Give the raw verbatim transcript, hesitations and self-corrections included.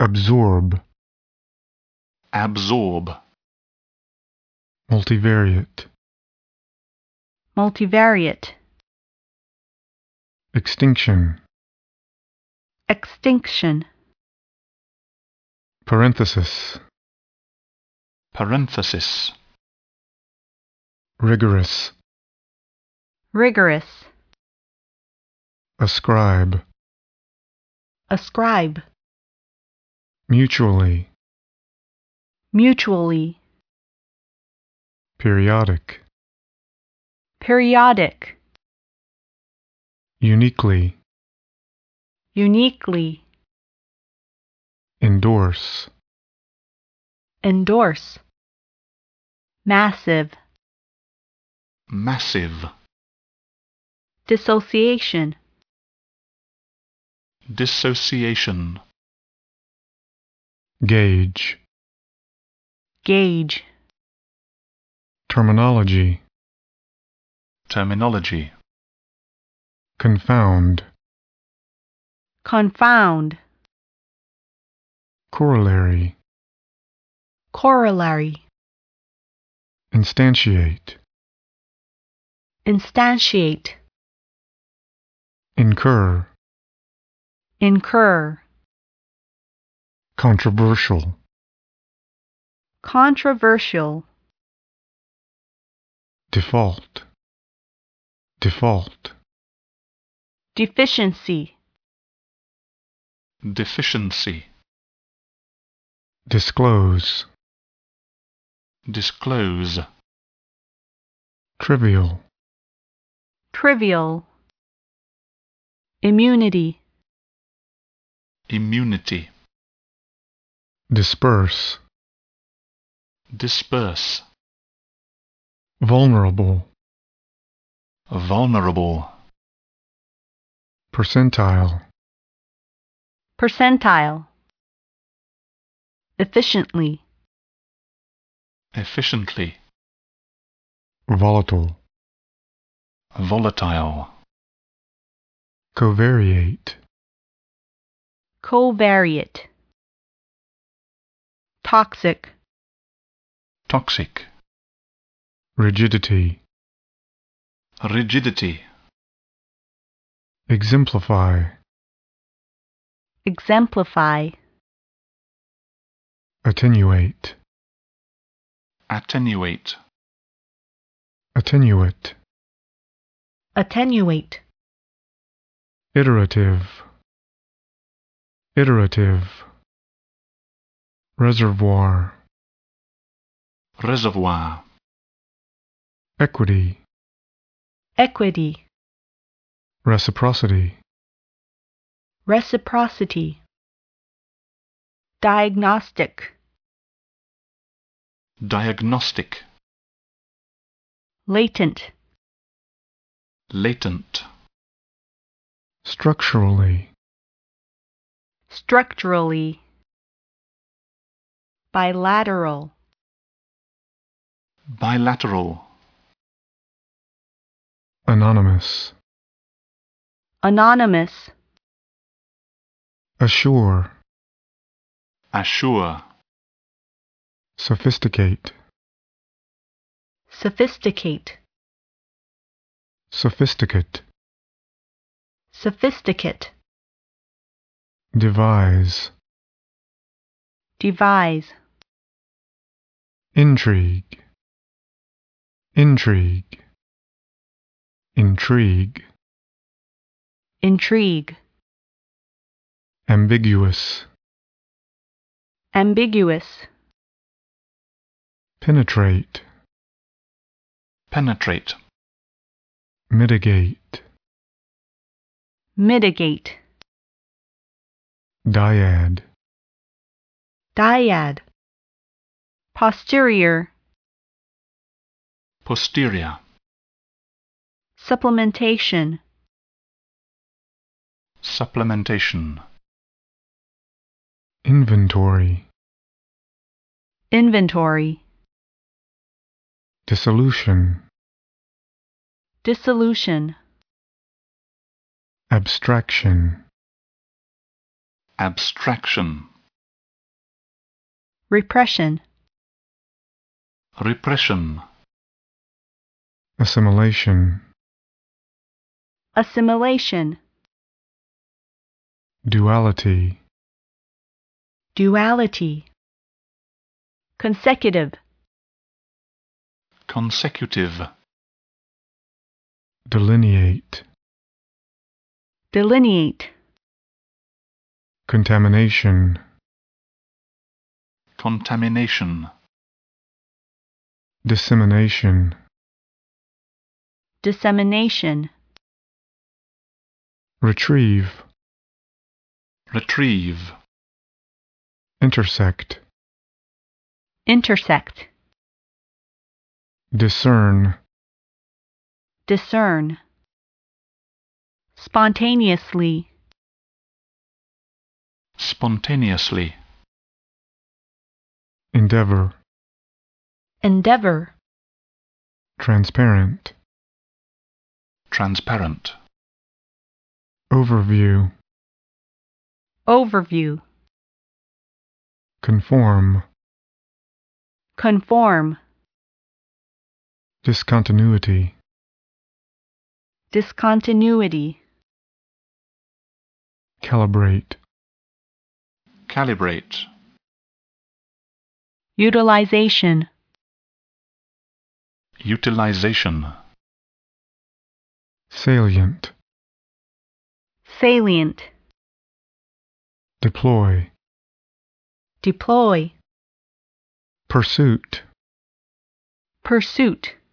Absorb. Absorb. Multivariate. Multivariate. Extinction. Extinction. Parenthesis. Parenthesis. Rigorous. Rigorous. Ascribe. Ascribe. Mutually. Mutually. Periodic. Periodic. Uniquely. Uniquely. Endorse. Endorse. Massive. Massive. Dissociation. Dissociation. Gauge. Gauge. Terminology. Terminology. Confound. Confound. Corollary. Corollary. Instantiate. Instantiate. Incur. Incur. Controversial. Controversial. Default. Default. Deficiency. Deficiency. Disclose. Disclose. Trivial. Trivial. Immunity. Immunity. Disperse. Disperse. Vulnerable. Vulnerable. Percentile. Percentile. Efficiently. Efficiently. Volatile. Volatile. Covariate. Covariate. Toxic. Toxic. Rigidity. Rigidity. Exemplify. Exemplify. Attenuate. Attenuate. Attenuate. Attenuate. Iterative. Iterative. Reservoir. Reservoir. Equity. Equity. Reciprocity. Reciprocity. Diagnostic. Diagnostic. Latent. Latent. Structurally. Structurally. Bilateral. Bilateral. Anonymous. Anonymous. Assure. Assure. Sophisticate. Sophisticate. Sophisticate. Sophisticate. Devise. Devise. Intrigue. Intrigue. Intrigue. Intrigue. Ambiguous. Ambiguous. Penetrate. Penetrate. Mitigate. Mitigate. Dyad. Dyad. Posterior. Posterior. Supplementation. Supplementation. Inventory. Inventory. Dissolution. Dissolution. Abstraction. Abstraction. repression, repression, assimilation, assimilation, duality, duality, consecutive, consecutive, delineate, delineate, contamination, contamination, dissemination, dissemination, retrieve, retrieve, intersect, intersect, discern, discern, spontaneously, spontaneously, endeavor, endeavor, transparent, transparent, overview, overview, conform, conform, discontinuity, discontinuity, calibrate, calibrate, utilization, utilization, salient, salient, deploy, deploy, pursuit, pursuit,